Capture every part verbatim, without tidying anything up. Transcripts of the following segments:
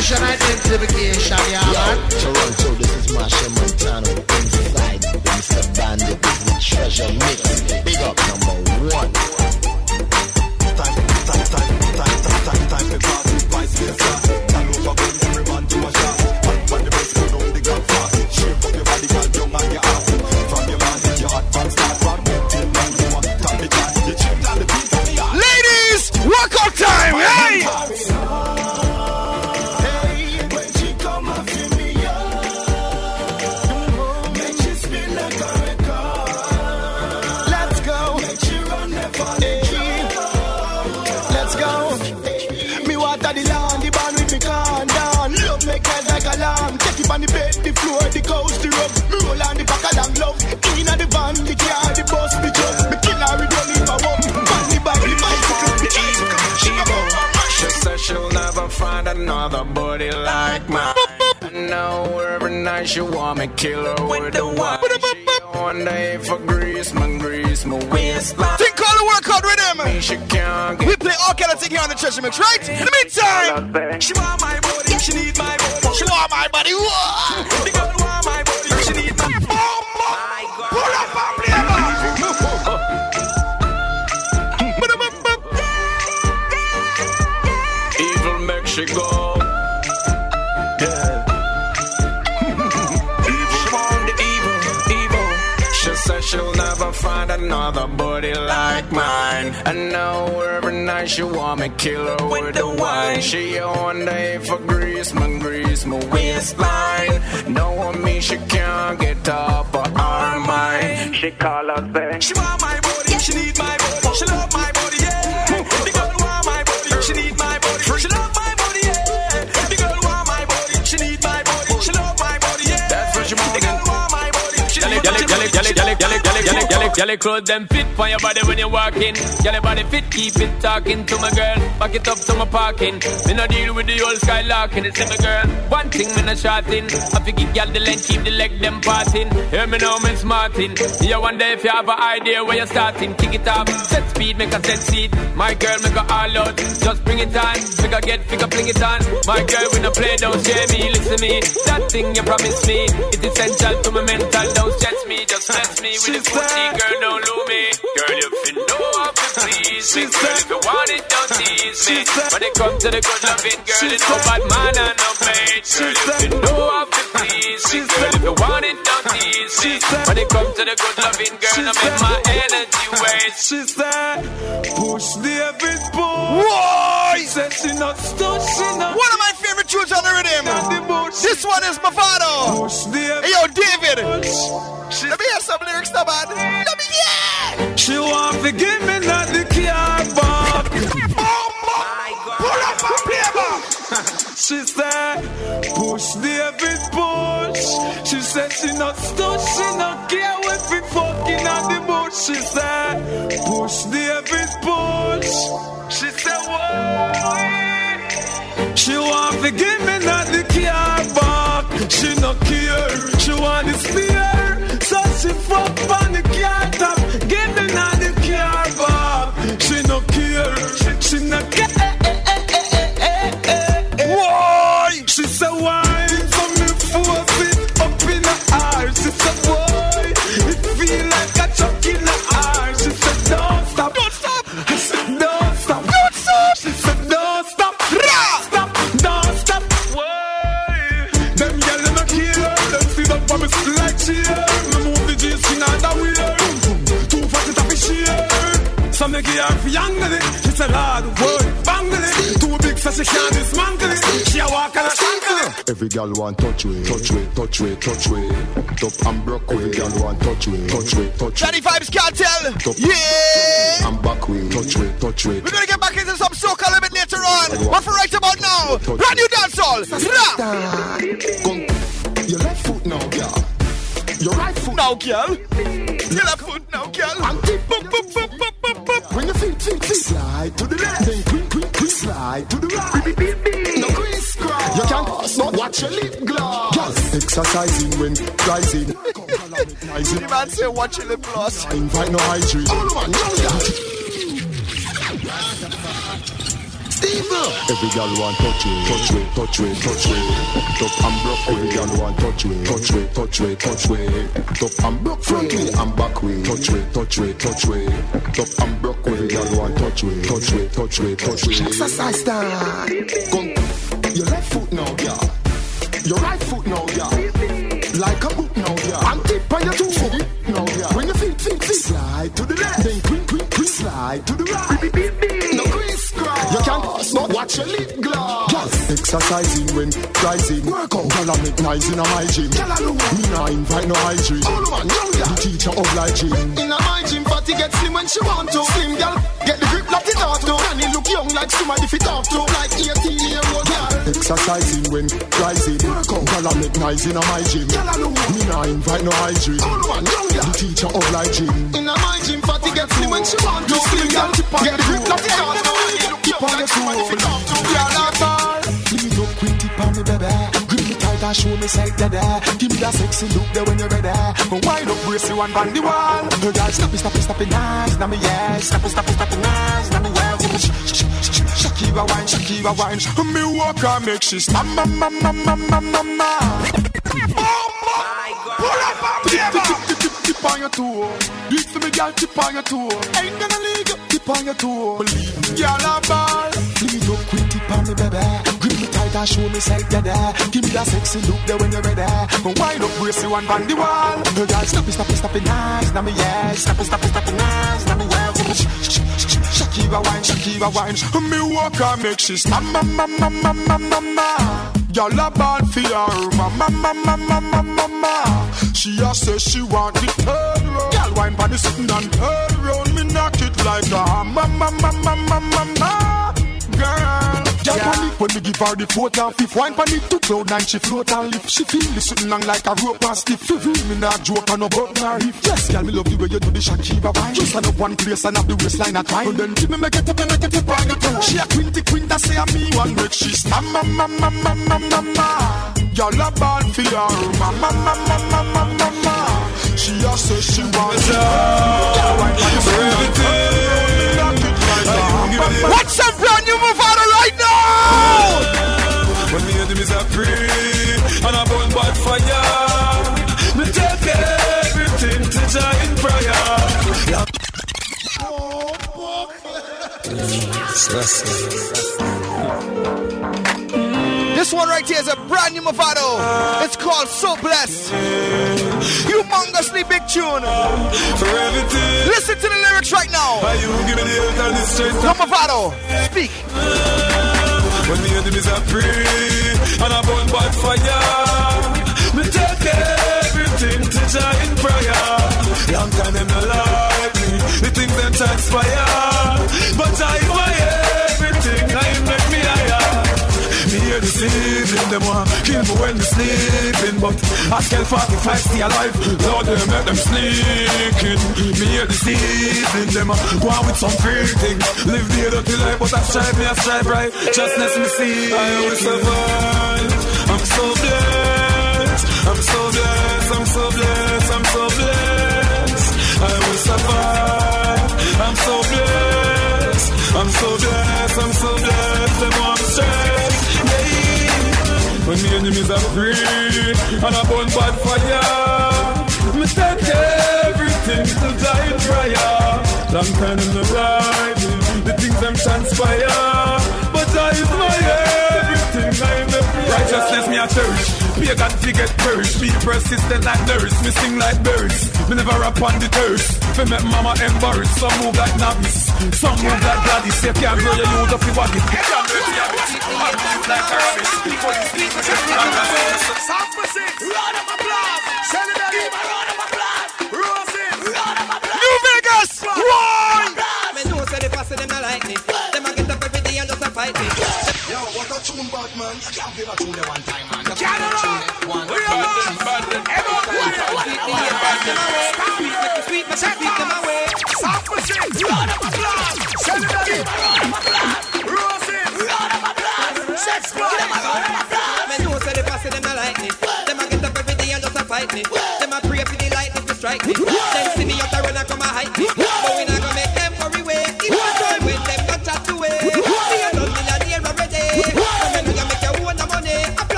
Nation identification, yeah, man. Toronto, this is Marsha Montano. Inside, Mister Bandit is the treasure mix. Big up number one. Time, time, time, time, time, time, time to party, vice versa. All over, bring everyone to a shot. When the best go down, the gun fast. Shape up your body, girl, young and your ass. From your man, hit your hot man, start from till now you want to top the gun. You check down the beat of the yard. Ladies, workout time, hey! On the bed, the floor, the couch, the rug. Me roll on the back of long love. Inna the van, the car, the bus, the truck. Me kill her, we don't leave her up. On the back, the bicycle, the tricycle. She said she'll never find another body like mine. I know every night she want me kill her with the wine. She one day for grease, my grease, my waistline. Think all the workout with him. She can't get. We play all kind of thing here on the Treasure Mix, right? In the meantime, she want my body, she need my body. She want my body. Whoa. The girl want my body, she need my body. Oh my God. Pull up and play back. Evil make she go. Yeah. She want the evil, evil. She said she'll never find another body like mine. I know every night she want me kill her with, with the wine. She one day for grease, my grease, my waistline. No one me she can't get up of our mind. She call us say she want my body, she need my body, she love my body, yeah. The girl want my body, she need my body, she love my body, yeah. The girl want my body, she need my body, she love my body, yeah. That's what she want. The girl want my body, she need my body. Girl, your clothes them fit for your body when you're walking. Girl, your body fit, keep it talking to my girl. Back it up to my parking. Me no deal with the old skylarking. It's my girl. One thing me no shorting. I fi give girl the length, keep the leg them parting. Hear me now, me smarting. You wonder if you have an idea where you're starting. Kick it up, set speed, make a set seat. My girl, make a all out. Just bring it on, make a get, figure, fling it on. My girl, we no play, don't share me. Listen to me, that thing you promised me. It's essential to my mental. Don't stress me, just stress me with the booty. Girl, don't lose me. Girl, you feel know how to please me. Girl, if you want it, don't tease me. When it comes to the good loving, girl, it's no bad man and no pain. Girl, you feel know how to please me. Girl, if you want it, don't tease me. When it comes to the good loving, girl, I make my energy waste. She said, push David, push. Why? She said she not stuck, she not. One of my favorite tunes on the rhythm. This one is Mavado. Push David. Hey, yo, David. She Let me hear some lyrics now, man. Let me hear. She want to give me not the car back. Oh my God. Pull up and play back. She said, push David, push. She said she not stuck, she not care if we fucking on the bush. She said, push David, push. She said, what? She want to give me not the car back. She not care, she want the spear. So she fuck on the car top. Give me not the car back. She not care, she not care. Why? She said, why? So me force it up in her eyes. She said, why? It feel like a chuck in her eyes. She said, don't stop. Don't stop. I said, don't stop. Don't stop. She said, don't stop. Stop. Don't stop. Why? Them girls in the kill. Them see them for me like cheer. Me move the G string on the wheel. Too fast it up a sheer. Some make her for young it. She said, hard word. Bangle it. Too big so she can't dismantle it. She a walk and a shankle it. Every girl want touch way, touch way, touch way, touch way. Top and broke way. Every girl want touch way, touch way, touch way. Johnny Vibes Cartel. Top Yeah. and back way, touch way, touch way. We're gonna get back into some soca a little bit later on. But for right about now, brand new dancehall. Come, your left foot now, girl. Your right foot now, girl. Your left foot now, girl. And tip, boop, boop, boop, boop, boop, boop. When your feet, feet, feet slide to the left, then quick, quick, quick slide to the right. No crisscross. You can't pass, not watch your lip gloss. Girl, exercising when rising. The man say watch your lip gloss. I invite no hydrate. Oh, no, man, no, yeah. evil. Every girl want touch it, touch it, touch it, touch it. Top and broke way. Every girl want touch it, touch it, touch it, touch it. Top and broke front way and back way. Touch it, touch it, touch it. Top and broke way. Every girl want touch it, touch it, touch it, touch it. Exercise time. Come, your left foot now, yeah. Your right foot now, yeah. Like a boot now, yeah. And tip on your two foot now, yeah. When your feet, feet, feet slide to the left, then quick, quick, quick slide to the right. No crisscross. You can't but watch your lip gloss. Yes. Exercising when rising. Work out. Girl, I make nice in a my gym. Me nah invite no hygiene. Oh man, young girl. The teacher obliging. In a my gym, party get slim when she want to. Slim girl, get the grip like it ought to. And he look young like somebody fit off to. Like eighteen year old girl. Exercising when rising. Work out. Girl, I make nice in a my gym. Me nah invite no hygiene. Oh man, young girl. The teacher obliging. In a my gym, party get slim when she want to. Slim girl, get the grip like it ought to. Keep on the tool. You're not ball. Leave up quick, tip on me, baby. Grip me tight and show me side, dada. Give me that sexy look there when you're ready. But wind up, brace you and bang the wall. Her girl, stop it, stop it, stop it, nice. Now me, yeah. Stop it, stop it, stop it, nice. Now me, yeah. Shakira wine, Shakira wine. Me walk and make she stop, ma, ma, ma, ma, ma, ma, ma. Pull up and tip, tip, tip on your toe. Do it for me, girl, tip on your toe. Ain't gonna leave you, tip on your toe. Believe me, girl, a ball. Leave up quick, tip on me, baby. Grip me tight and show me side, dada. Give me that sexy look there when you're ready. But wind up, brace you and bang the wall. Her girl, stop it, stop it, stop it, nice. Now me, yeah. Stop it, stop it, stop it, nice. Now me, yeah. Shakira wine, Shakira wine. Me walk and make she stop, ma, ma, ma, ma, ma, ma, ma. Y'all a ball for her, ma, ma, ma, ma, ma, ma, ma, ma. She a say she want it third round. Y'all wine for the sitting and third round. Me knock it like a ma, ma, ma, ma, ma, ma, ma. Girl, y'all yeah. Panic when me give her the fourth and fifth. Wine panic to cloud nine, she float and lift. She feel the sitting long like a rope and stiff. Feel me not joke and no button or hip. Yes, girl, me love the way you do the Shakira wine. Just stand up one place and have the waistline at time. And then give me make it up and make it up on your toe. She a quinty quinta say a me one make she stand ma ma ma ma ma ma ma. Y'all a ball for her, ma ma ma ma ma ma ma ma. She a say she wants it. What's up, brand new Mavado right now? When the enemies are free and I burn bad fire, me take everything to giant prayer. This one right here is a brand new Mavado. It's called So Blessed. Humongously big tune. For everything. Listen to the lyrics right now. You give me the earth and the strength. No Mavado, speak. When the enemies are free and I burn bad fire, me take everything to giant prayer. Long time them not like me, the things them transpire, but I my everything, I make me higher. Me hear the sleeping, them want kill me when me sleeping, but I still forty-five stay alive. Lord, they make them sneaking. Me hear the sleeping, them go on with some free things. Live the dirty life, but I strive, me I strive right. Justness me see, I will survive. I'm so blessed, I'm so blessed, I'm so blessed, I'm so blessed. I will survive. I'm so blessed, I'm so blessed, I'm so blessed. Them want me straight. When the enemies are free and I burn bad fire, me take everything to die in prayer. Long time in the life, the things them transpire, but I is my everything. I am the righteousness me a church. Pagan to get purged. Be persistent like nurse. Me sing like birds. Me never rap on the thirst. Fi make mama embarrassed. Some move like novice, some move like Gladys. You can't grow your youth up your body. You can't do it, I'll move like Hermes. People you speak with your San Francisco, round of applause. Celebrate, round of applause. Rosin, round of applause. New Vegas, one. Me know say the pass them not like me. Them a get up every day and just a fight me. Yo, what a tune, bad man. You can't give a tune there one time, man. Get it up. One, we are bad, bad, everyone. Sweet, but sweet them away. San Francisco, round of applause. Celebrate, round of applause. Rosin, round of applause. Sex boy, round of applause. Me know say the pass them not like me. Them a get up every day and just a fight me. Them a pray for the lightning to strike me. Them see me out there run and come a hide me. But we not gonna make them hurry away. Even though when them got chat away. Me a done me a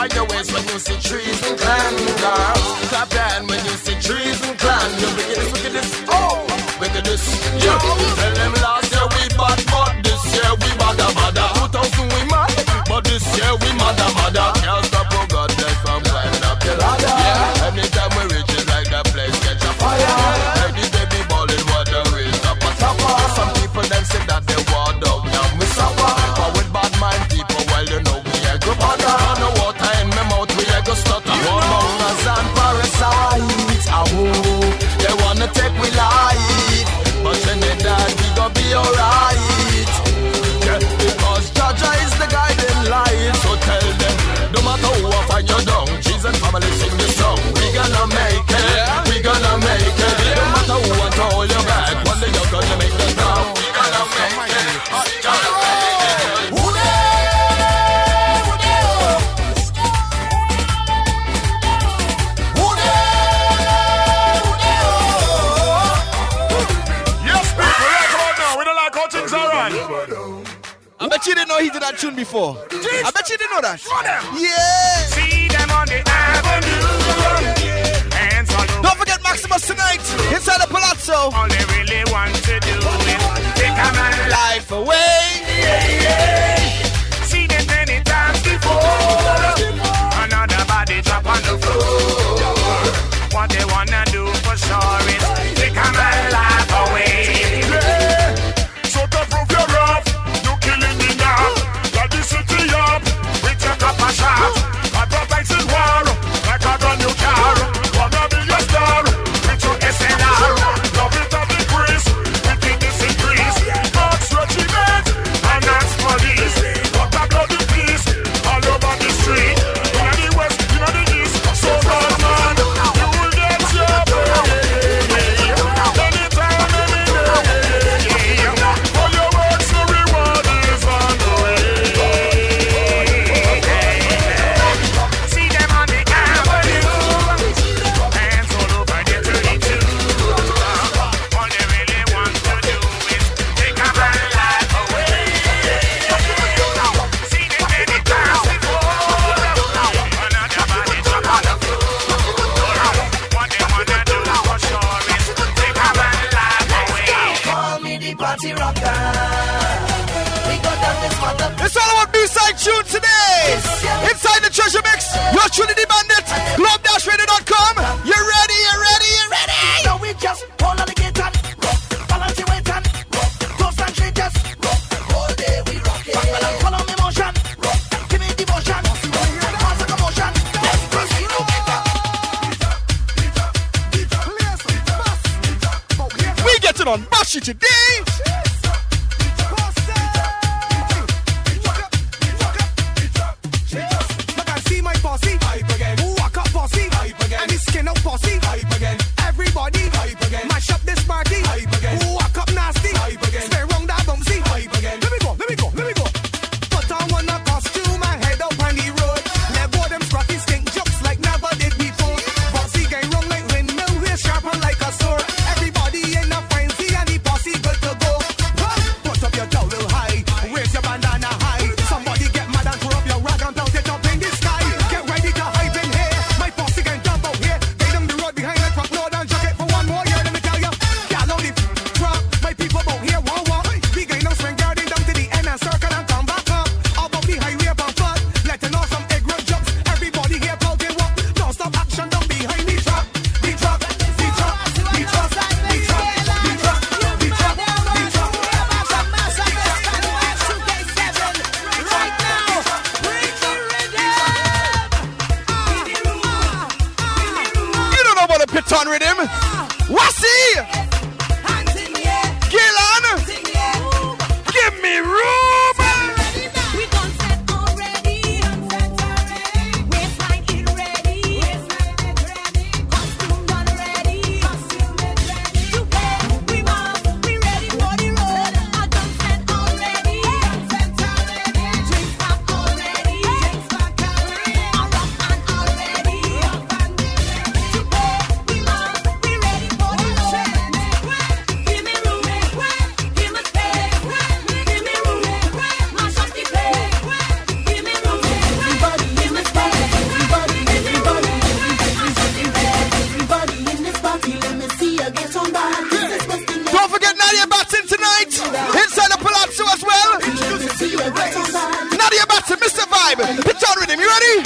Wind your waist when you see trees and clan, girls. Clap your hand when you see trees and clan. You look at this, look at this, oh, look at this. Yeah, tell them last year we bad, but this year we bada bada. two thousand we mad, but this year we mada mada. Can't stop, oh God, bless from climbing up the ladder. Yeah, anytime we reach it like that place catch a fire. Baby, baby, balling water is up a supper. Some people them say that they want down, now we suffer. But with bad mind people, well you know we ain't go bother. No water in my mouth, we ain't go stutter. One mountains and parasites, ah oh, they wanna take we life, but Trinidad we gon' be alright. Yeah, because Jaja is the guiding light. So tell them, no matter who I find you down, cheese and family sing the song. We gonna make it, we gonna make it. No matter who I hold you back, one day you're gonna make the town. We gonna make it, we gonna make it. Who there? Who there? Who there? Who there? Yes, people, right about now. We don't like how things are run. I bet you didn't know he did that tune before. Jeez. I bet you didn't know that. Yeah. See them on the avenue. Hands all over. Don't forget Maximus tonight inside the Palazzo. All they really want to do is take a man's life away. Yeah, yeah. See them many times before. Another body drop on the floor. What they wanna do for sure is take a man's life away. Yeah. So to prove you're rough, you killing me now. Got the city up with your copper shot. Advertising war like a brand new car. Wanna be your star with your S L R. Love it at the grease, wickedness increase. Marks regiment and that's police. Got a bloody piece all over the street. In the west, in the east, so bad man, you will get your pay. Anytime, any day. For your works, the reward is on the way. See them on the avenue. Hands all over there to the two. All they really want to do is take a man's life away. See them many times before. Another body drop on the floor. What they wanna do for sure is take a man's life away. Call me the party rocker. We got down this mother. It's all about B-side tune today. Inside the treasure mix, your Trinity Bandit, globe dash radio dot com. You ready? You ready? You ready? Now we just hold on the gate and rock. Balance your weight and rock. Toast and treat just rock. All day we rock it. Follow me motion. Rock. Give me devotion. Cause a commotion. Let's proceed. We getting on Bashy today. Look and see my posse. Hype again. Walk up posse. Hype again. And his skin out posse. Hype again. Everybody. Hype again. Mash up this party. Hype again. Walk up nasty. Hype again. Stay round that bumpsy. Hype again. Let me go. Let me go. Let me go. Put on one a costume and head up on the road. Let go them scruffy stink jokes like never did before. Bossy gang wrong like windmill. We're sharper like a sword. Everybody in a frenzy and the posse good to go. Put up your towel high. Raise your bandana high. Somebody get mad and throw up your rag and belt it up in the sky. Get ready to hype in here. My posse can jump out here. They them the road behind the truck load and chuck it for one more year. Let me tell you, y'all on the truck. My people out here won't walk. We gain no swing guarding down to the end and circle and come back up. Up on the highway up on foot. Letting off some egg road jumps. Everybody here talking walk. Don't stop action down behind the truck. The truck, the truck, the truck, the truck, the truck, the truck, the truck, the truck. You don't know about the Piton rhythm. Wasi! Gillan! Give me room! We gon' set already. Waistline it ready. Costume done ready. Today we move, we ready for the road. I done set already. Drinks back already. I rock and already. Today we move, we ready for the road. rhythm. You ready?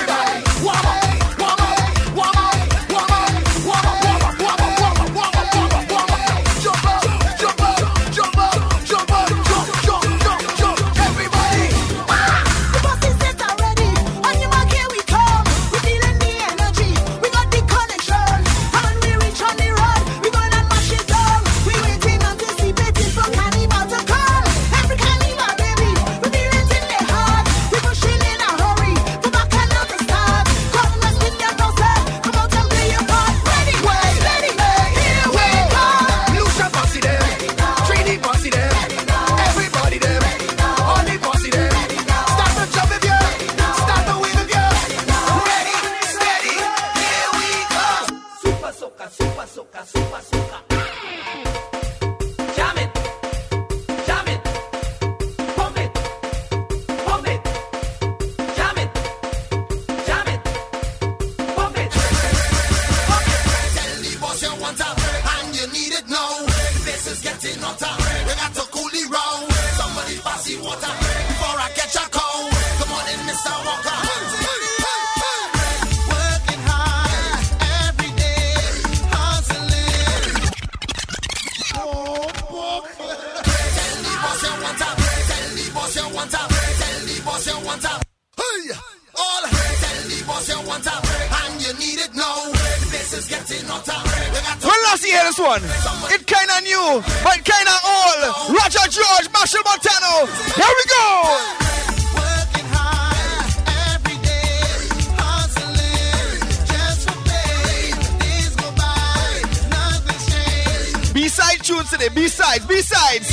B-sides, B-sides.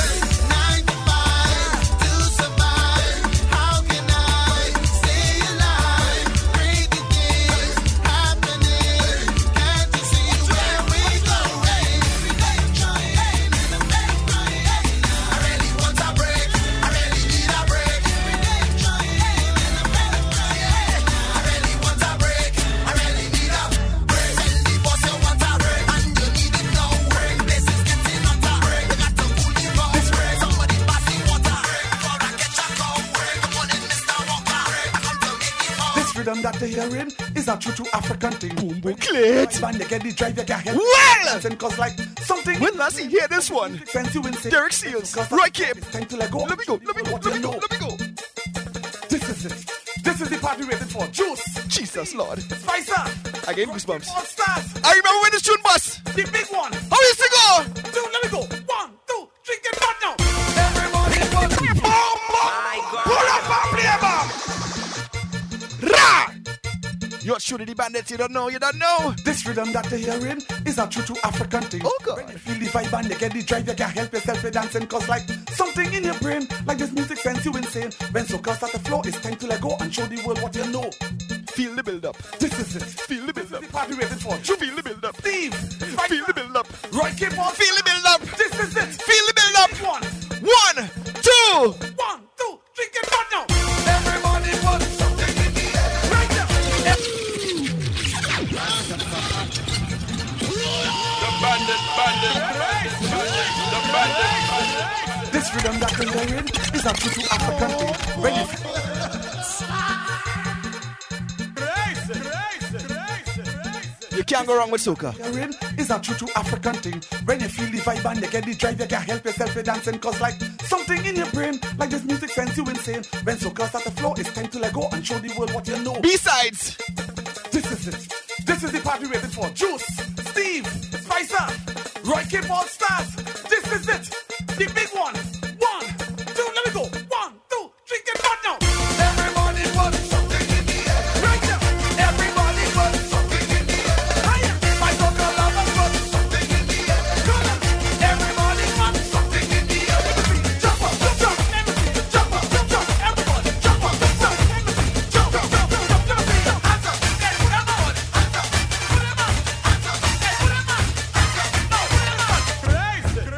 That the hearing is a true to African thing. Boom boom clit. Band they get the drive you can help. Well, cause like something. When last you hear this one? Sense you insane. Derek Seals. Right Cape. It's time to let go. Let me go. Let me go. Let me go. Let me go. This is it. This is the party waiting for. Juice. Jesus Lord. Spicer. I gave goosebumps. All stars. I remember when this tune bust. The big one. How used to go? Two. Let me go. One, two, three. Get back now. Everybody was. Bomb, bomb. Pull up and play bomb. Ra. You're shooting the bandits, you don't know, you don't know. This rhythm that they're hearing is a true to African thing. Oh God. When you feel the vibe and you get the drive, you can't help yourself with dancing. Cause like something in your brain, like this music sends you insane. When soca start the flow, it's time to let go and show the world what you know. Feel the build up. This is it. Feel the build up. The party waiting for. You feel the build up. Steve. Feel the build up. Roy Cape on. Feel the build up. This is it. Feel the build up. One. One, two. One, two, three, get back now. Everybody wants something in the air. Right now. The bandit, bandit, the bandit, bandit. This rhythm that you're hearing is a true to African thing. When you You can't go wrong with soca. Hearing is a true to African thing. When you feel the vibe and you get the drive, you can't help yourself with dancing. Cause like something in your brain, like this music sends you insane. When soca start the flow, it's time to let go and show the world what you know. B-sides. This is it. This is the party waiting for. Juice, Steve, Spicer, Roy Cape All Stars. This is it. The big one. One, two, let me go. One, two, three, get back now. Everybody wants something in the air. Right now. Everybody wants something in the air. Higher. My soca lovers want something in the air. Come on. Everybody wants something in the air. Jump up, jump up. Jump up, jump up. Everybody jump up, jump up. Jump up, jump up, jump up. Hands up. Everybody. Hands up. Put them up. Hands up. Put them up. No, put them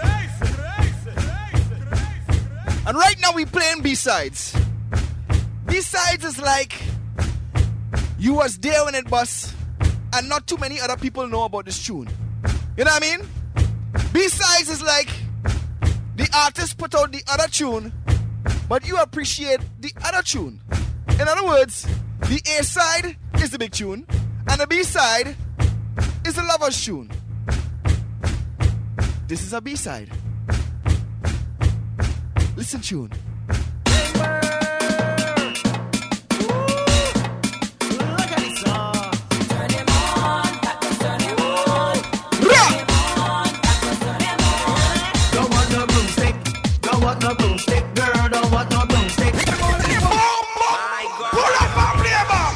up. And right now we playing B-sides. B-sides is like you was there when it bust and not too many other people know about this tune. You know what I mean? B-sides is like the artist put out the other tune, but you appreciate the other tune. In other words, The A side is the big tune, and the B side is the lover's tune. This is a B side. Listen, tune. No broomstick, girl, don't want no broomstick. My God. Pull up and play back.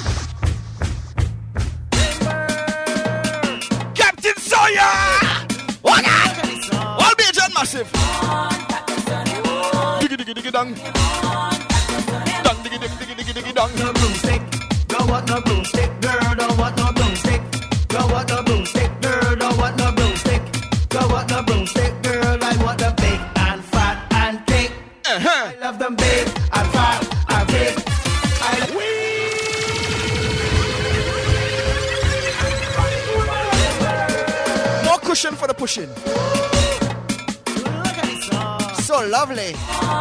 Captain Sawyer! What? All major and massive. Diggy diggy diggy dong. Dong diggy diggy diggy diggy diggy dong. No broomstick, don't want no broomstick, girl, don't want no broomstick. Don't want no broomstick, girl, don't want no broomstick. Don't want no broomstick, girl, I want the big and fat and thick. Uh-huh. I love them big and fat and thick. I love More cushion for the pushing. So lovely.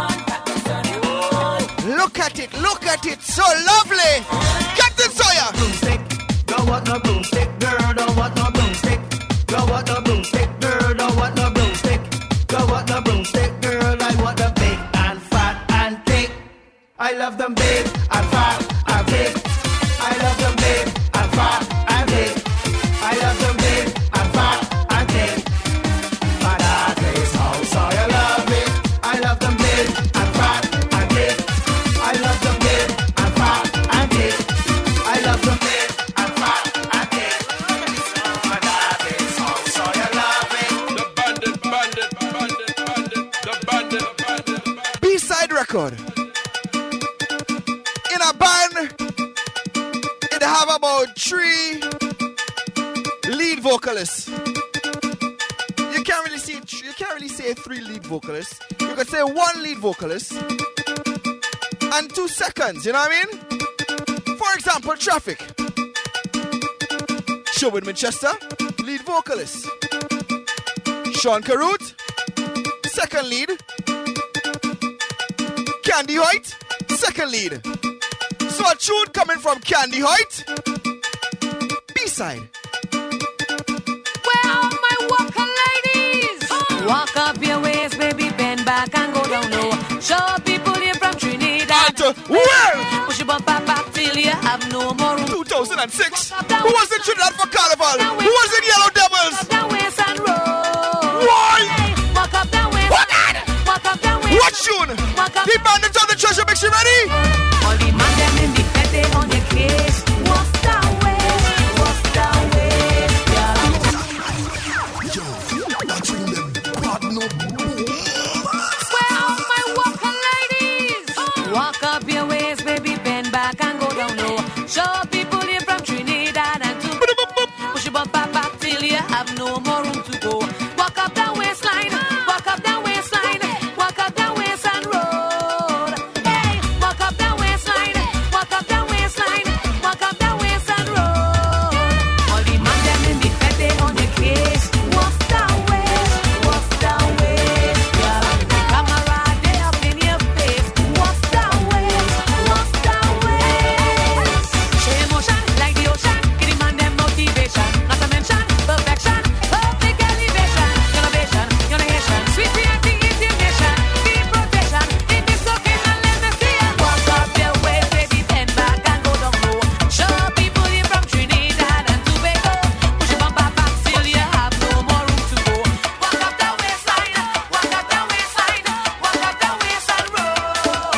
Look at it, look at it, so lovely. Captain Sawyer. Broomstick, don't want no broomstick, girl, don't want no broomstick. Don't want no broomstick, girl, don't want no broomstick. Don't want no broomstick, girl, I want the big and fat and thick. I love them big and fat and thick. I love them big and fat and thick. I love them big and fat and thick. My that is how Sawyer love it. I love them big and fat and thick. I love them big and fat and thick. I love them big and fat and thick. My that is how Sawyer love it. The bandit, bandit, bandit, bandit, the bandit, bandit. B-side record. In a band, it have about three lead vocalists. You can't really see, you can't really say three lead vocalists. You could say one lead vocalist and two seconds. You know what I mean? For example, Traffic. Sherwood Manchester, lead vocalist. Sean Carruth, second lead. Candy Hoyt, second lead. So a tune coming from Candy Hoyt, B-side. Where are my walker ladies? Walk up your waist, baby, bend back and go down low. Show people here from Trinidad. And where? Push your bump back, back till you have no more room. two thousand six. Who was in Trinidad for Carnival? Who was in Yellow Devils? Walk up that waist and roll. Why? Walk up that waist. What? Walk up that waist. What tune? The bandits on the treasure mix, you ready? All the man them in the fete on your case. Walk that way, walk that way, yeah. Yo, that ring them bad no. Where are my walker ladies? Walk up your waist, baby, bend back and go down low. Show people here from Trinidad and Tobago. Push your bump back, back till you have no more room to go. Walk up that waistline, walk up that waistline, walk up that waist and roll. Hey, walk up that waistline, walk up that waistline, walk up that waist and roll. All the man them in the fete on the case. Walk that way, walk that way, yeah. Camera they up in your face. Walk that way, walk that way. Show emotion like the ocean. Give the man them motivation. Not to mention perfection, perfect elevation, innovation, innovation. Sweet reality is your nation. Deep protection in this occasion. Let me see ya. Walk up your way, baby, bend back and go down low. Show people here from Trinidad and Tobago. Push your bump back, back till you have no more room to go. Walk up that waistline, walk up that waistline, walk up that waist and roll.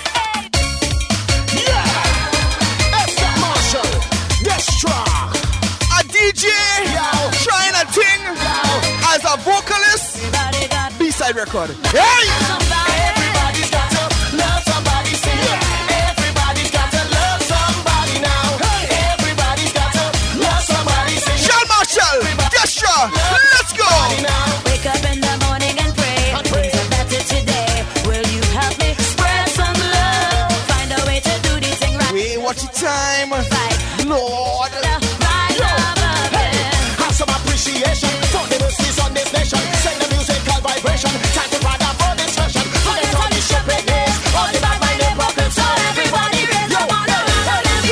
Esther Marshall, Destra. A D J trying a thing as a vocalist. B-side record. Hey! Everybody's got to love somebody, say everybody's got to love somebody now. Everybody's got to love somebody, say Sean Marshall, Destra, let's go! Wake up in the morning and pray. Things are better today. Will you help me spread some love? Find a way to do this thing right. Wait, watch your time. Lord. Right love again. Have some appreciation for the mercies on this nation. Send the musical vibration. Time to ride out for this session. Forget all the shepherd days. All the bad mind and problems. So everybody raise your hand.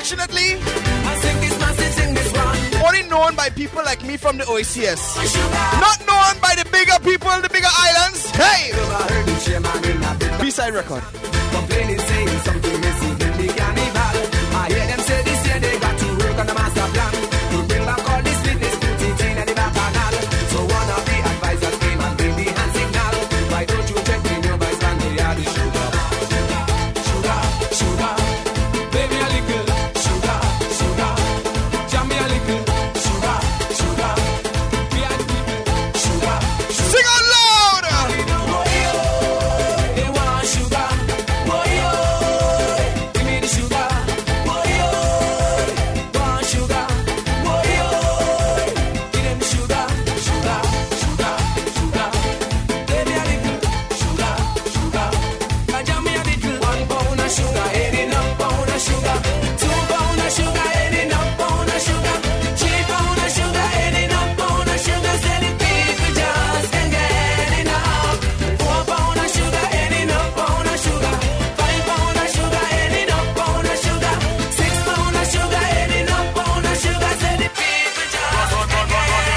unfortunately, only known by people like me from the O A C S. Not known by the bigger people, the bigger islands. Hey! B-side record. Complaining, saying something missing in the carnival. I hear them say this year they got to work on the master plan to bring back all this fitness to teaching and the bacchanal. So one of the advisors came and bring the hand signal. Why don't you check in your vice and they are the sugar? Sugar, sugar, baby a little sugar, sugar, jam me a little sugar, sugar, we are the people, sugar, sugar. Sing out loud! They want sugar, boy, give me the sugar, boy, want sugar, boy, give them sugar, sugar, sugar, sugar, baby a little sugar, sugar, and jam me a little. One pound of sugar, ain't enough pound of sugar. Two pound of sugar, ain't enough pound of sugar. Three pound of sugar, ain't enough pound of sugar. Say the people just can't get enough. Four pound of sugar, ain't enough pound of sugar. Five pound of sugar, ain't enough pound of sugar. Six pound of sugar, ain't enough pound of sugar. Say the people just can't get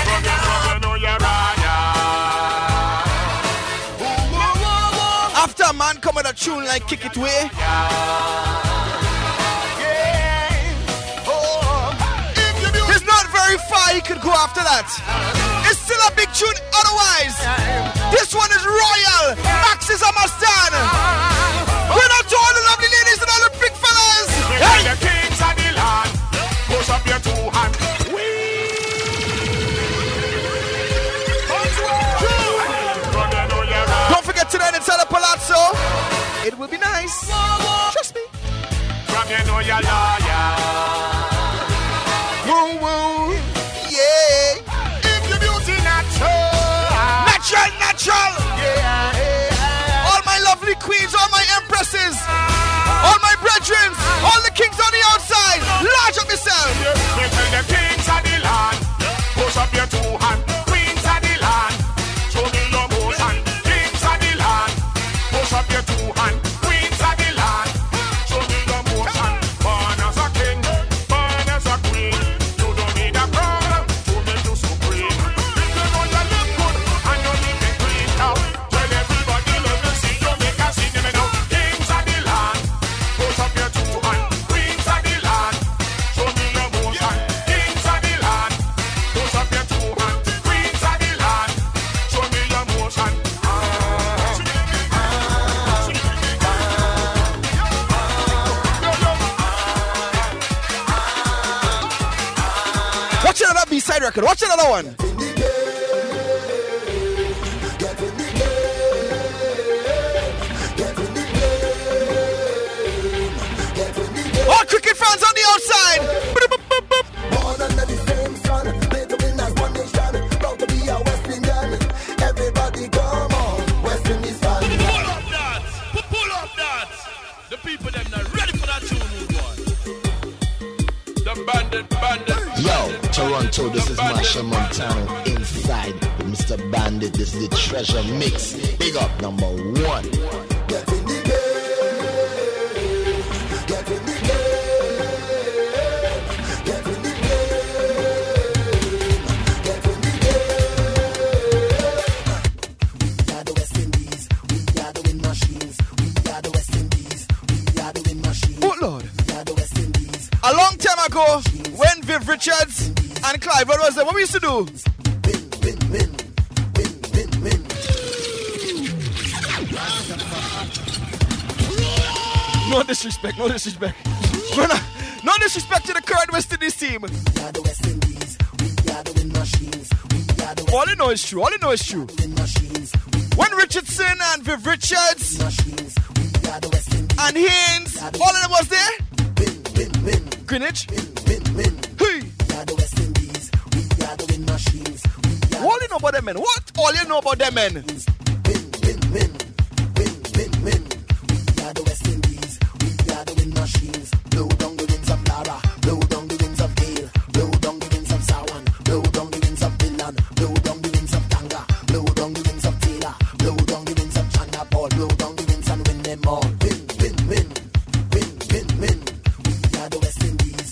enough. After a man come with a tune like Kick It Way, he's not very far, he could go after that. It's still a big tune otherwise. This one is royal. Maxis a must stand. We're not to all the lovely ladies and all the big fellas. Hey! The kings of the land, push up your two hands. Don't forget tonight inside the Palazzo. It will be nice. Trust me. From you know you're loyal. Woo woo. Yeah. If your beauty natural. Natural, natural. Yeah. All my lovely queens, all my empresses, all my brethren, all the kings on the outside. Large up yourself. You tell the kings of the land, push up your two hands. Queens of the land, show me your motion. Kings of the land, push up your two hands. Queens of the land, show me your motion. Born as a king, born as a queen. You don't need a crown to make you supreme. If you know you look good and you need it clean now, tell everybody let me see you make a scene. Let me know. Kings of the land, push up your two hands. Queens of the land, show me your motion. Kings of the land, push up your two hands. Queens of the land, show me your motion. Watch another B-side record. Watch another one. All cricket fans on the outside. Born under the same sun, play the winners one nation. Proud to be a West Indian. Everybody come on, West Indies fan. Pull up that, pull up that. The people them not ready for that tune, new boy. The bandit, bandit. Yo, Toronto, this is Marsha Montano inside with Mister Bandit. This is the Treasure Mix. Big up number one. Get in the game, get in the game, get in the game, get in the game. We are the West Indies, we are the wind machines. We are the West Indies, we are the wind machines. Oh Lord. We are the West Indies. A long time ago, when Viv Richards and Clive, what was that? What we used to do? Win, win, win, win, win, win. No disrespect, no disrespect. No, no, no disrespect to the current West Indies team. We are the West Indies, we are the wind machines. We are the All you know is true, all you know is true. wind machines. When Richardson and Viv Richards Machines, we are the West Indies. and Haynes, all of them was there? Win, win, win, Greenwich? win, win, win. Hey! We are the West Indies, we are the wind machines. We are All you know about them men? What? All you know about them men? win, win, win, win, win, win. We are the West Indies, we are the wind machines. Blow down the winds of Lara, blow down the winds of Gale, blow down the winds of Sawan, blow down the winds of Finland, blow down the winds of Tanga, blow down the winds of Taylor, blow down the winds of China Paul, blow down the winds and win them all. Win, win, win, win, win, win. We are the West Indies,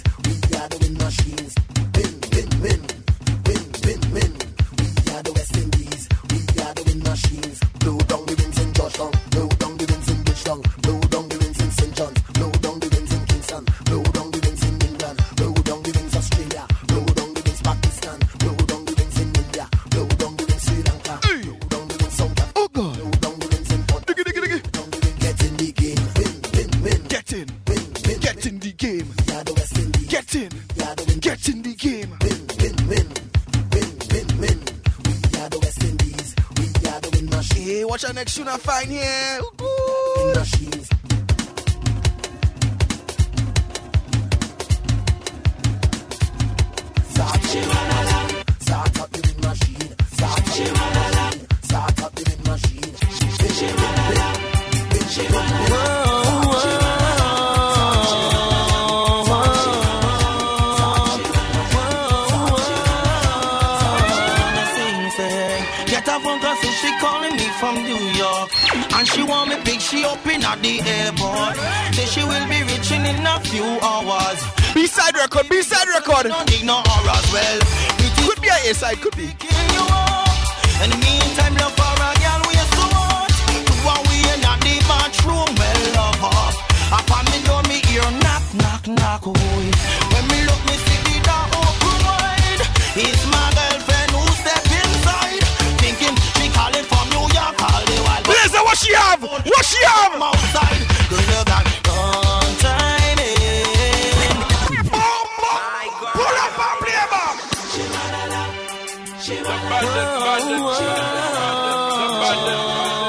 Watch our next tune I find here. Start up the wind machine. Start up the wind machine. Start up the wind machine. Get a phone call, say she calling me from New York, and she want me pick she up in at the airport. Say she will be reaching in a few hours. B-side record, B-side record. Don't need no hours, well. Could be a A-side, could be. In the meantime, love for a girl we so much. While we in at the bathroom, well, love her. Upon me door, me ear knock, knock, knock, oh. When me look, me see the door open wide. It's my girlfriend who step inside, thinking she calling from New York all the while. Listen, what she have? What she have? I'm outside, girl, you got one time in. Pull up and play back. The bandit, bandit, the bandit,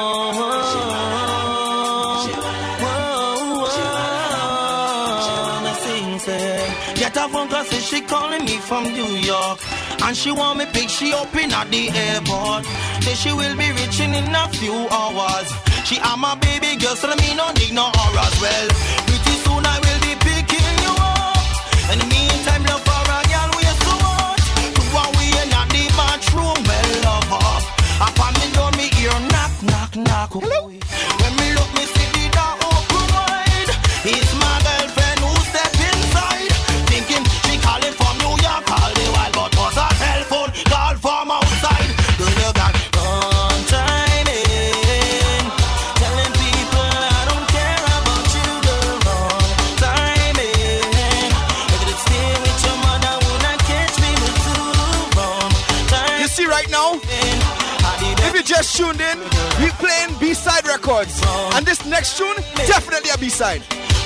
Get a phone call, say she calling me from New York, and she want me pick she up in at the airport. Say she will be reaching in a few hours. She am my baby girl, so me no need no hours. Well, pretty soon I will be picking you up. In the meantime, love for a girl we so much. While we in at the bathroom, well, love her. Upon me door, me ear knock, knock, knock. Hello? When me look, me see the door open wide. It's my girlfriend who step inside, thinking she calling from New York all the while, but was a telephone call from outside. Girl, you got one time in, telling people I don't care about you, girl. One time in, if you stay with your mother, would not catch me with two. Wrong time. You see right now, if you just tuned in, we playing B-side records, and this next tune definitely a B-side.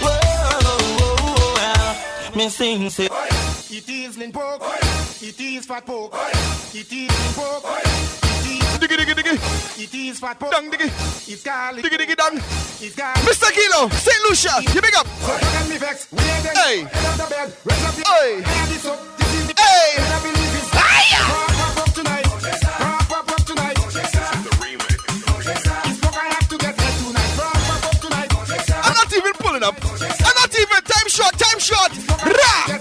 Me sing, say. It is Limpopo, it is Fat Poke, it is Limpopo, it diggy diggy diggy, it is Fat Poke, dang diggy, it's garlic, diggy diggy dang, it's garlic. Mister Kilo, Saint Lucia, you big up. So you can me vex, we ain't then, hey, head up the bed, raise up your hey, hand, this up, this is the hey, and I believe it's pop up tonight, pop up tonight, it's what I have to get head tonight, pop up tonight. I'm not even pulling up, I'm not even, time short, time short, rah!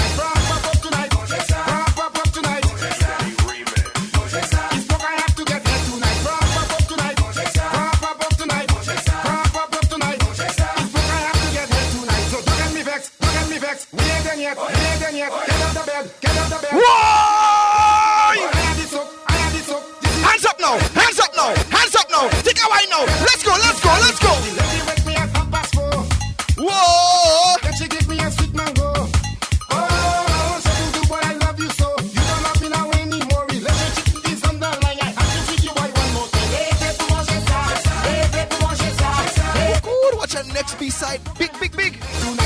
Hands up now, hands up now, hands up now. Take a wine now. Let's go, let's go, let's go. Whoa! Then she give me a sweet mango. Oh, so you do, but I love you so. You don't love me now anymore. Relationship is on the line. I have to treat you right one more time. Good, watch our next B-side. Big, big, big.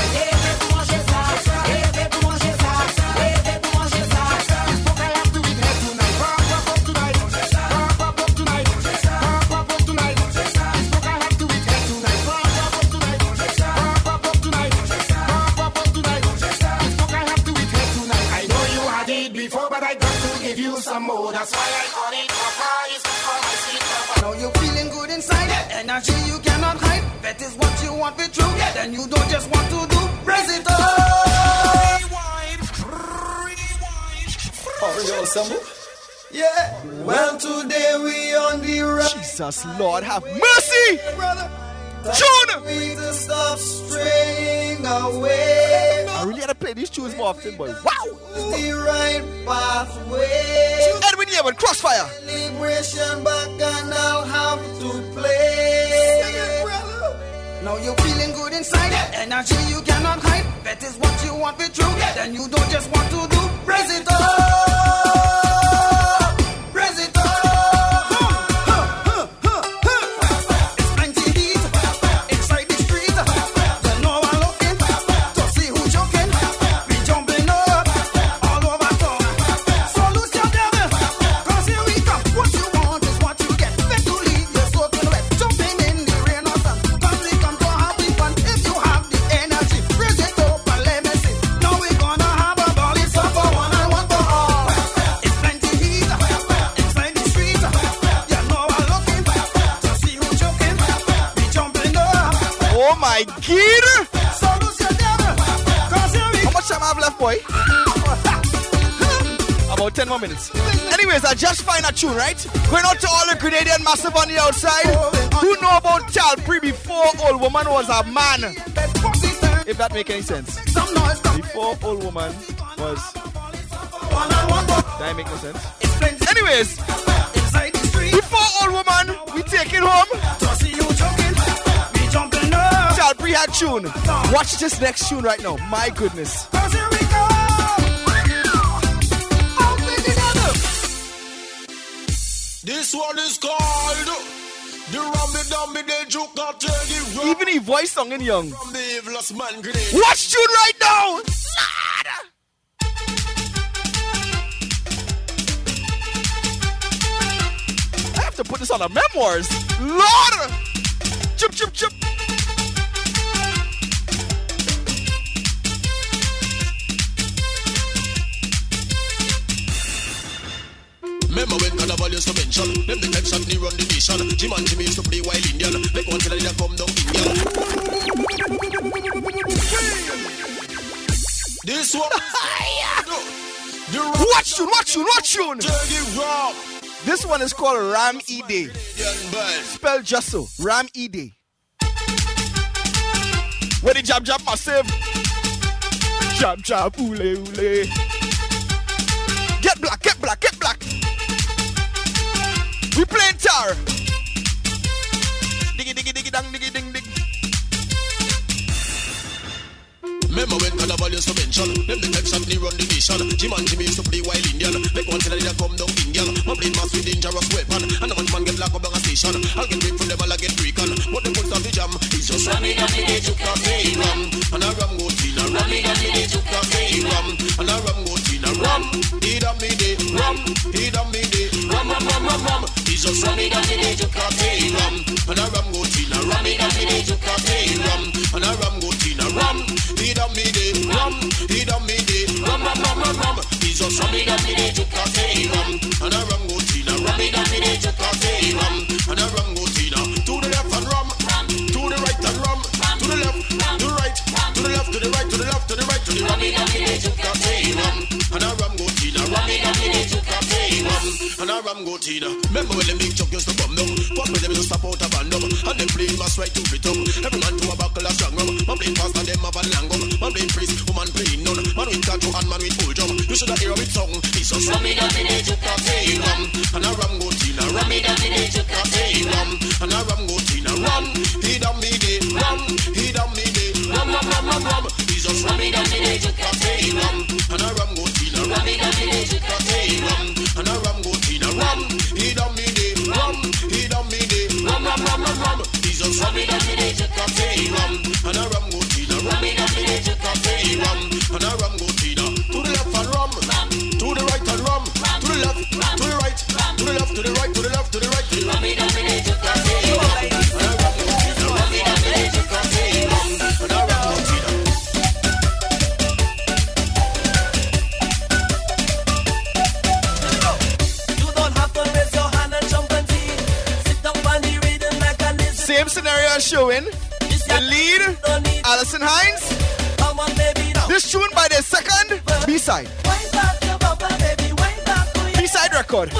Some more, that's why I on it. Papa is for my sweet Now you're feeling good inside, energy you cannot hide. That is what you want to true, then you don't just want to do. Raise it up. Oh, yo, Sambo? Yeah. Well, today we on the road. Jesus, Lord, have mercy. Brother. Tune. We to stop straying away. I really had to play these tunes more often, boy. Wow. The right pathway. Edwin Yeaman, Crossfire. Celebration back and I'll have to play. Sing it, brother. Now you're feeling good inside, energy you cannot hide. That is what you want to true, then you don't just want to do. Raise it up. Raise it up. my God! How much time I have left, boy? About ten more minutes. Anyways, I just find a tune, right? Going out to all the Grenadian massive on the outside. Who know about Talpree before Old Woman was a man? If that make any sense. Before Old Woman was... That make no sense. Anyways, before Old Woman, we take it home. Talpree had tune. Watch this next tune right now. My goodness. This one is called the Rummy Dummy Day Juke Not Take It. Even he voice song in young. From the evilest man grenade. Watch tune right now. Lord. I have to put this on the memoirs. Lord. Chup chup chup. Remember when Carnival used to mention them the types of the run the nation. Jim and Jimmy used to play wild Indian. Make one till they come down Indian. This one Watch tune, watch tune, watch tune. This one is called Ram E Day. Spell just so. Ram E Day. Where the jab jab massive. Jab jab ule ule. Get black, get black, get black. We playing tar. Diggy diggy diggy dang diggy ding ding. Remember when Carnival used to mention them the types of the run the nation. Jim and Jimmy used to play wild Indian. Make one till they come down Indian. My blade mass with dangerous weapon. And the man get locked up on a station. I'll get break from them, I'll get breaking. But the put on the jam is just Rummy Dummy Day Juke Not Take It. And a rum go tina. Rummy Dummy Day Juke Not Take It. And a rum go tina. Rum, he done me day. Rum, he done me day. Rum, rum, rum, rum, rum. It's just Rummy Dummy Day Juke Not Take It. And a rum go tina. Rummy Dummy Day Juke Not Take It. And a rum go tina. Rum, he done me day. Rum, he done me day. Rum, rum, rum, rum, rum. It's just Rummy Dummy Day Juke Not Take It. And a rum go tina. Rummy Dummy Day Juke Not Take It. And a rum go tina. To the left and rum. To the right and rum. To the left, to the right. To the left, to the right, to the left, to the right, to the Rummy Dummy Day Juke Not Take It. And a rum go tina. Rummy Dummy Day Juke Not Take It. And a rum go tina. Remember when the big chuck used to come down? What when them used to stop out a random? And them play mass right to rhythm. Every man to a buckle of strong rum. Man play fast and them have a long gun. Man play priest, woman play none. Man with tattoo and man with full drum. You should have hear it song. It's just Rummy Dummy Day Juke Not Take It. And a rum go tina. Rummy Dummy Day Juke Not Take It. And a rum go tina. Rum, he done me day. Rum, he done me day. Rum, rum, rum, rum, rum. It's just Rummy Dummy Day Juke Not Take It. And a rum go tina. Rummy Dummy Day Juke Not Take It. And a rum go tina. Rum, he done me day. Rum, he done me day. Rum, rum, rum, rum, rum. It's just Rummy Dummy Day Juke Not Take It. And a rum go tina. Rummy Dummy Day Juke Not Take It. And a rum go tina. To the left and rum. To the right and rum. To the left, to the right. To the left, to the right, to the left, to the right. Rummy Dummy Day Juke Not Take It. And a rum go tina. Rummy Dummy Day Juke Not Take It. And a rum go tina. Same scenario showing. The lead, Alison Hines. This tune by the second B-side. B-side record.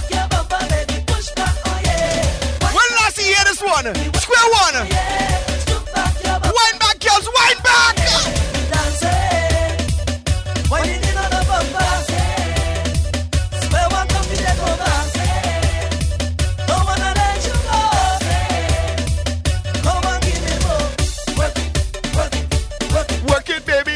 When last you hear this one? Square one. Wind back, girls, wind back. Work it, baby.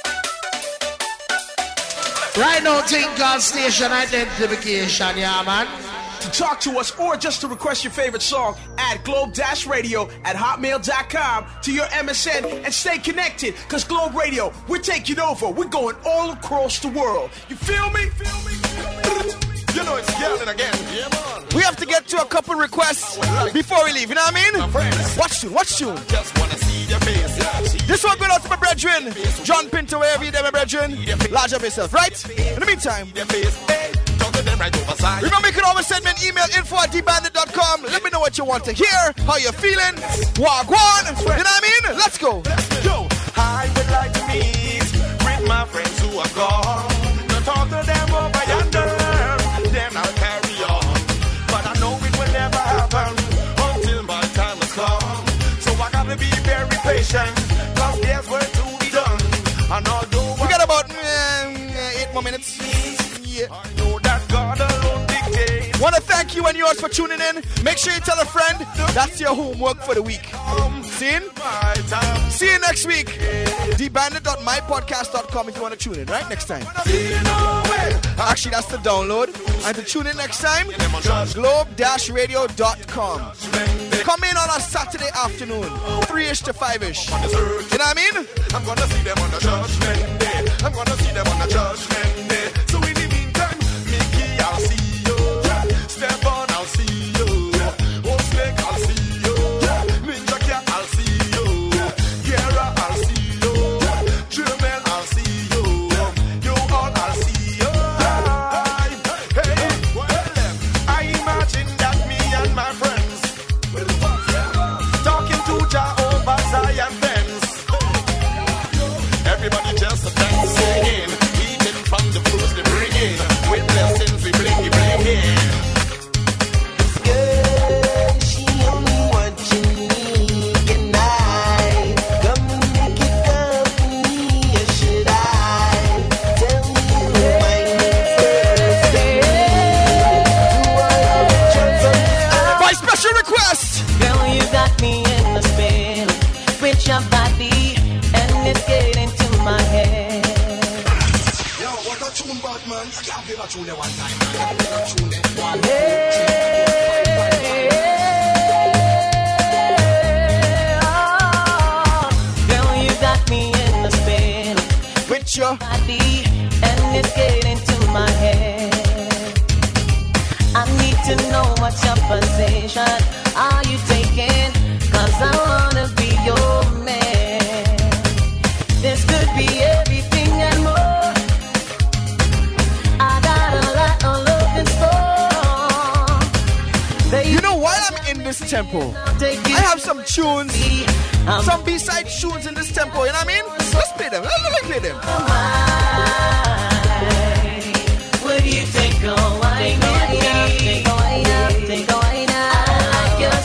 Right now, think God station identification, yeah, man. To talk to us or just to request your favorite song, add globe-radio at hotmail dot com to your M S N and stay connected, because Globe Radio, we're taking over. We're going all across the world. You feel me? Feel me? Feel me? You know it's yelling again. Yeah, man. We have to get to a couple requests before we leave, you know what I mean? Watch tune, watch tune. Just wanna see your face. Yeah, see this one going out to my brethren. John Pinto, wherever you there, my brethren. Large up yourself, right? In the meantime, remember you can always send me an email, info at d bandit dot com. Let me know what you want to hear, how you're feeling. Wagwan, you know what I mean? Let's go. Yo, I would like to meet with my friends who are gone. Don't talk to them over yonder, then I'll carry on. But I know it will never happen until my time has come. So I gotta be very patient, cause there's work to be done. And although we got about uh, eight more minutes. Yeah. I know that God alone dictates. Want to thank you and yours for tuning in. Make sure you tell a friend. That's your homework for the week. See you? See you next week. d bandit dot my podcast dot com if you want to tune in, right? Next time. Actually, that's the download. And to tune in next time, globe radio dot com. Come in on a Saturday afternoon, three-ish to five-ish. You know what I mean? I'm gonna see them on the judgment day. I'm gonna see them on the judgment day. So in the meantime, Mickey, I'll see you. Step on, I'll see you. Oh, Snake, I'll see you. Ninja Cat, I'll see you. Guerra, I'll see you. German, I'll see you. You all, I'll see you. Hey, well, I imagine that me and my friends talking to Jah over Zion fence. Everybody just dancing, eating from the fruits they bring in. With blessings we blinky blinky. Girl, she only what you need, and I come and make it company. Or should I tell you my first day? By special request, girl, you got me in the spin with your body, and it's getting to my head. Yo, what a tune, Batman. I can't play that tune there one time. I can't play that tune there one time. Girl, you got me in the spin with your body, and it's getting to my head. I need to know what's your position. Are you taking? Cause I wanna be your man. This could be everything and more. I got a lot of love in store. Baby, you know, while I'm in this tempo, I have some tunes, some B-side tunes in this tempo, you know what I mean? Let's play them, let me play them. Would you take a wine with me? Take a wine up, take a wine up. I like your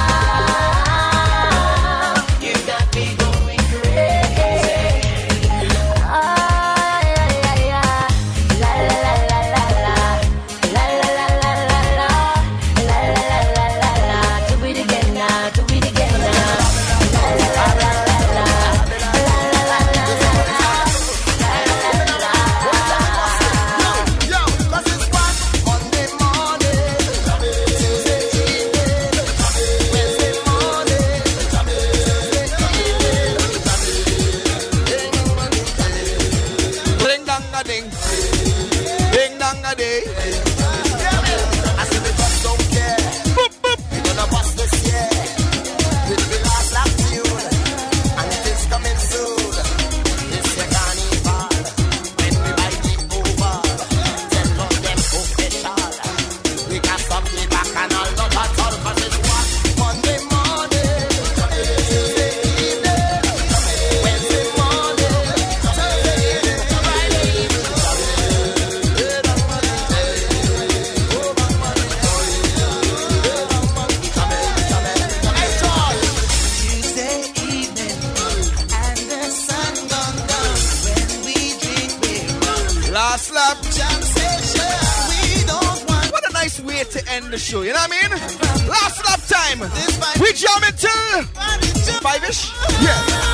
style. You got me going crazy. Ah, yeah, yeah, yeah. La la la la la la. La la la la la la. La la la la la la. Do it again now, do it again now. La la la la la la. La la la la la la. To end the show, you know what I mean? Last lap time. We jam it till five-ish. Yeah.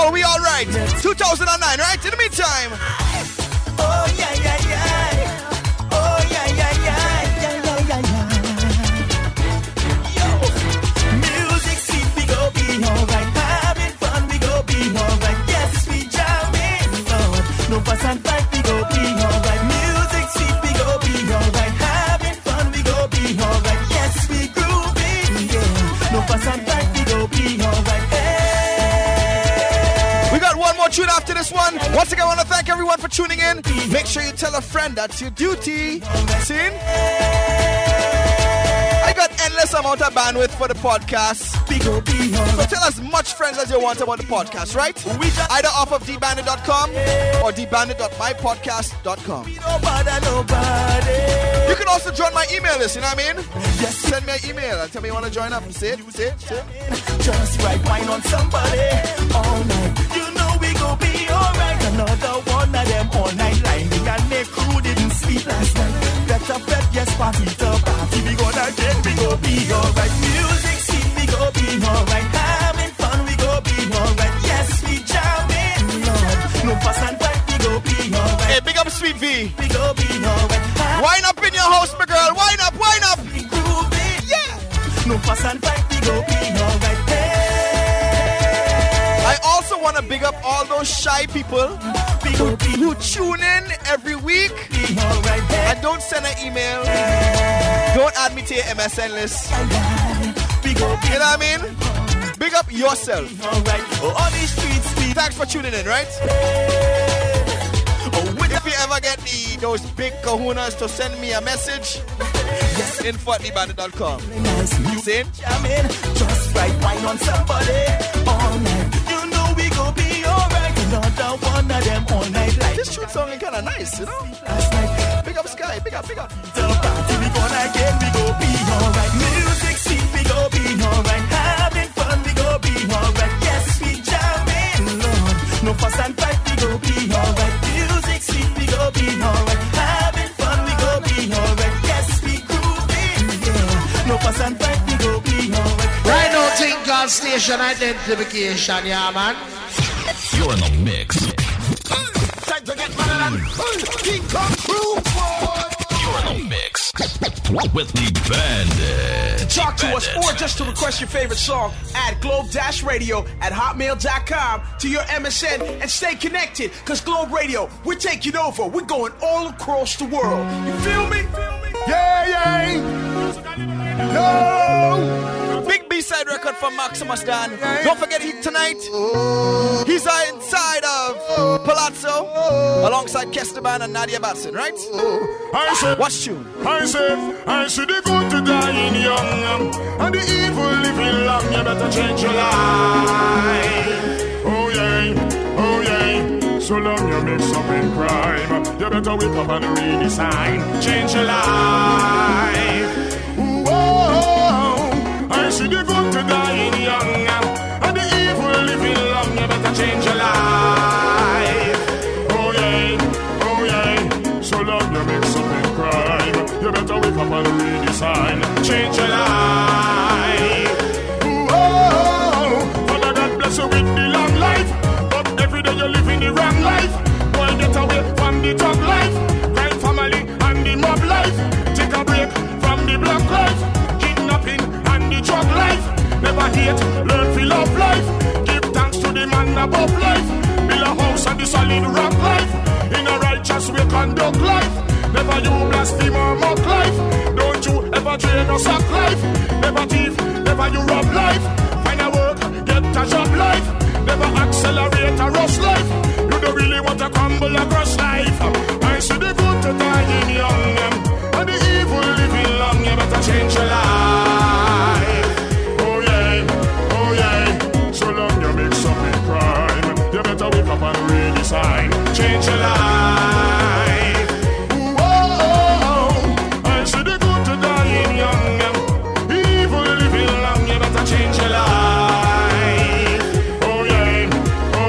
So we all right. two thousand nine, right? In the meantime. Oh yeah yeah yeah. Oh yeah yeah yeah yeah yeah yeah yeah. Yo, music scene we go be alright, having fun we go be alright. Yes we jamming, Lord. No fuss and fight we go be alright. Music scene we go be alright, having fun we go be alright. Yes we grooving, yeah. No fuss and fight we go be alright. We got one more tune after this one. Once again, I want to thank everyone for tuning in. Make sure you tell a friend that's your duty. See? I got endless amount of bandwidth for the podcast. So tell as much friends as you want about the podcast, right? Either off of d bandit dot com or d bandit dot my podcast dot com. You can also join my email list, you know what I mean? Just send me an email and tell me you want to join up. Say it, say it, say it. Just right wine on somebody all night. You know we go be alright. Another one of them all night lining and make crew didn't sleep last night. Better bet, yes, party to party. We gonna get, we go be alright. Music scene, we go be alright. Having fun, we go be alright. Yes, we jamming, Lord. No fuss and fight, we go be alright. Hey, big up Sweet V. We go be alright. Wind up in your house, my girl. Wind up, wind up. We grooving, yeah. No fuss and fight, we go be alright. I also want to big up all those shy people who, who tune in every week and don't send an email. Don't add me to your M S N list. You know what I mean? Big up yourself. Thanks for tuning in, right? If you ever get the, those big kahunas to send me a message, info at d bandit dot com. See? Just right wine on somebody all night. You know we go be alright. Another one of them all night like this tune sounding kinda nice, you know? Last night. Big up Sky, big up, big up. The party we gonna get, we go be alright. Music scene, we go be alright. Having fun, we go be alright. Yes, we jamming, Lord. No fuss and fight, we go be alright. Music scene, we go be alright. Having fun, we go be alright. Yes, we grooving, yeah. No fuss and fight, we go be alright. Right now, think called station identification, yeah, man. You're in the mix. Time to get mad. King Kong crew. You're in the mix with the Bandit. To talk to us Bandit. or just to request your favorite song, add Globe Dash Radio at hotmail dot com to your M S N and stay connected. Cause Globe Radio, we're taking over. We're going all across the world. You feel me? Yeah, yeah. No. Big B-side record from Maximus Dan. Don't forget he tonight. He's uh, inside of Palazzo alongside Kesteban and Nadia Batson, right? I said, watch tune. I said, I see the good to dying young and the evil living long. You better change your life. Oh yeah, oh yeah. So long you mix up in crime, you better wake up and redesign. Change your life. Whoa, I see the good to dying young and the evil living long. You better change your life. Oh yeah, oh yeah. So long you mix up in crime, you better wake up and redesign. Change your life. Whoa, Father God bless you with the long life, but every day you live in the wrong life. Boy, get away from the top life, crime family and the mob life. Take a break from the black life, kidnapping and the drug life. Never hate, learn to love life. Give thanks to the man above life. Build a house on the solid rock life. In a righteous way conduct life. Never you blaspheme or mock life. Don't you ever drain or suck life. Never thief, never you rob life. Find a work, get a job life. Never accelerate a rush life. You don't really want to crumble across life. I see the good to dying young and the evil living long. You better change your life. Oh yeah, oh yeah. So long you mix up in crime, you better wake up and redesign. Change your life. Whoa, I see the good to dying young, evil living long. You better change your life. Oh yeah, oh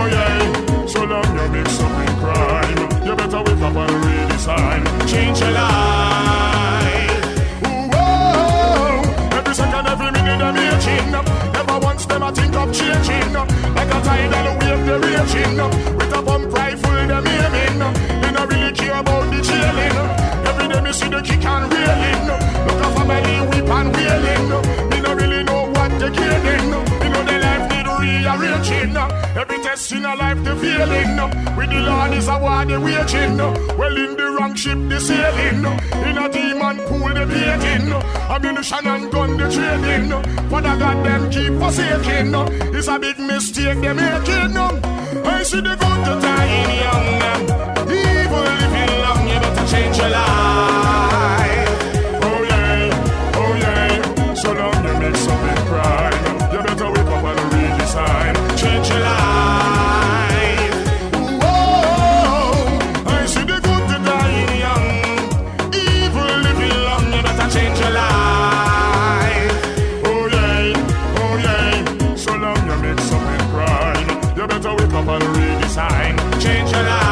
best in a life the feeling. With the Lord is a war they waging. Well in the wrong ship they sailing. In a demon pool they bathing. Ammunition and gun they trading. Father God them keep forsaking. It's a big mistake they making. I see the good to dying young. Evil living long, you better change your life. Oh yeah, oh yeah. So long you make some big crime. You better wake up and redesign. Change your life. Whoa, I see the good to dying young. Evil living long, you better change your life. Oh yeah, oh yeah. So long you make some big crime. You better wake up and redesign. Change your life.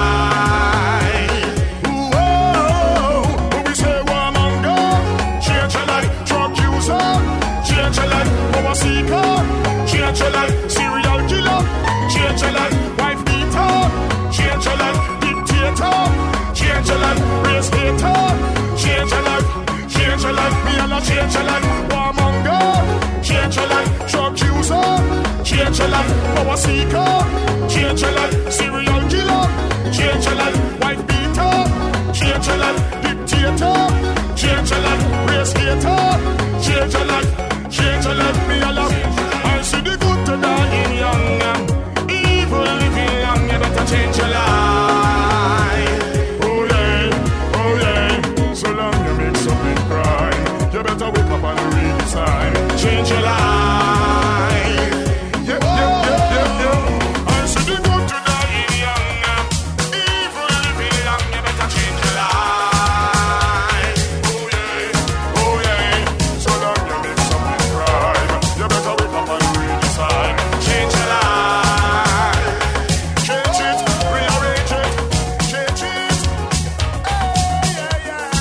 Whoa, we say warmonger. Change your life. Drug user. Change your life. Power seeker. Change your life. Serial killer. Change your life. Wife beater. Change your life. Dictator. Change your life. Race hater. Change your life. Change your life. Me and I change your life. Warmonger. Change your life. Drug user. Change your life. Power seeker. Change your life. Serial killer. Change your life. Wife beater. Change your life. Dictator. Change your life. Race hater. Change your life. Change your life. Me and I. I see the good to dying young. Evil living young. You better change your life. Oh yeah, oh yeah. So long you make something crime. You better wake up and redesign. Change your life. Yeah, yeah, yeah, yeah, yeah. I see the good to dying young. Evil living young. You better change your life. Oh yeah, oh yeah. So long you make something crime. You better wake up and redesign. Change your life. Change it, rearrange it, change it. Hey, yeah, yeah.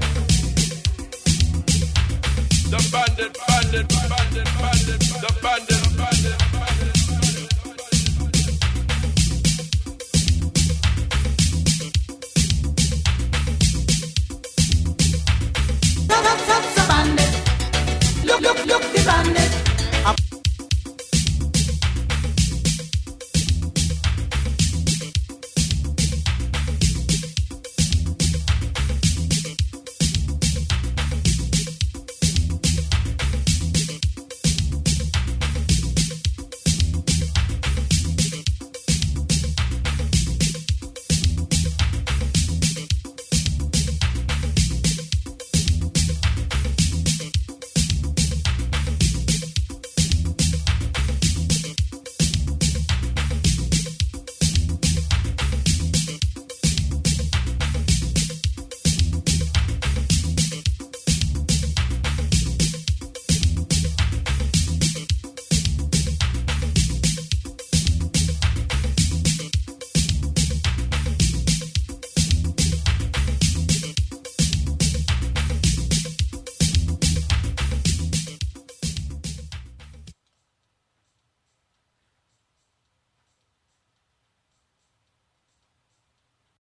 The bandit, bandit, bandit, bandit, the bandit.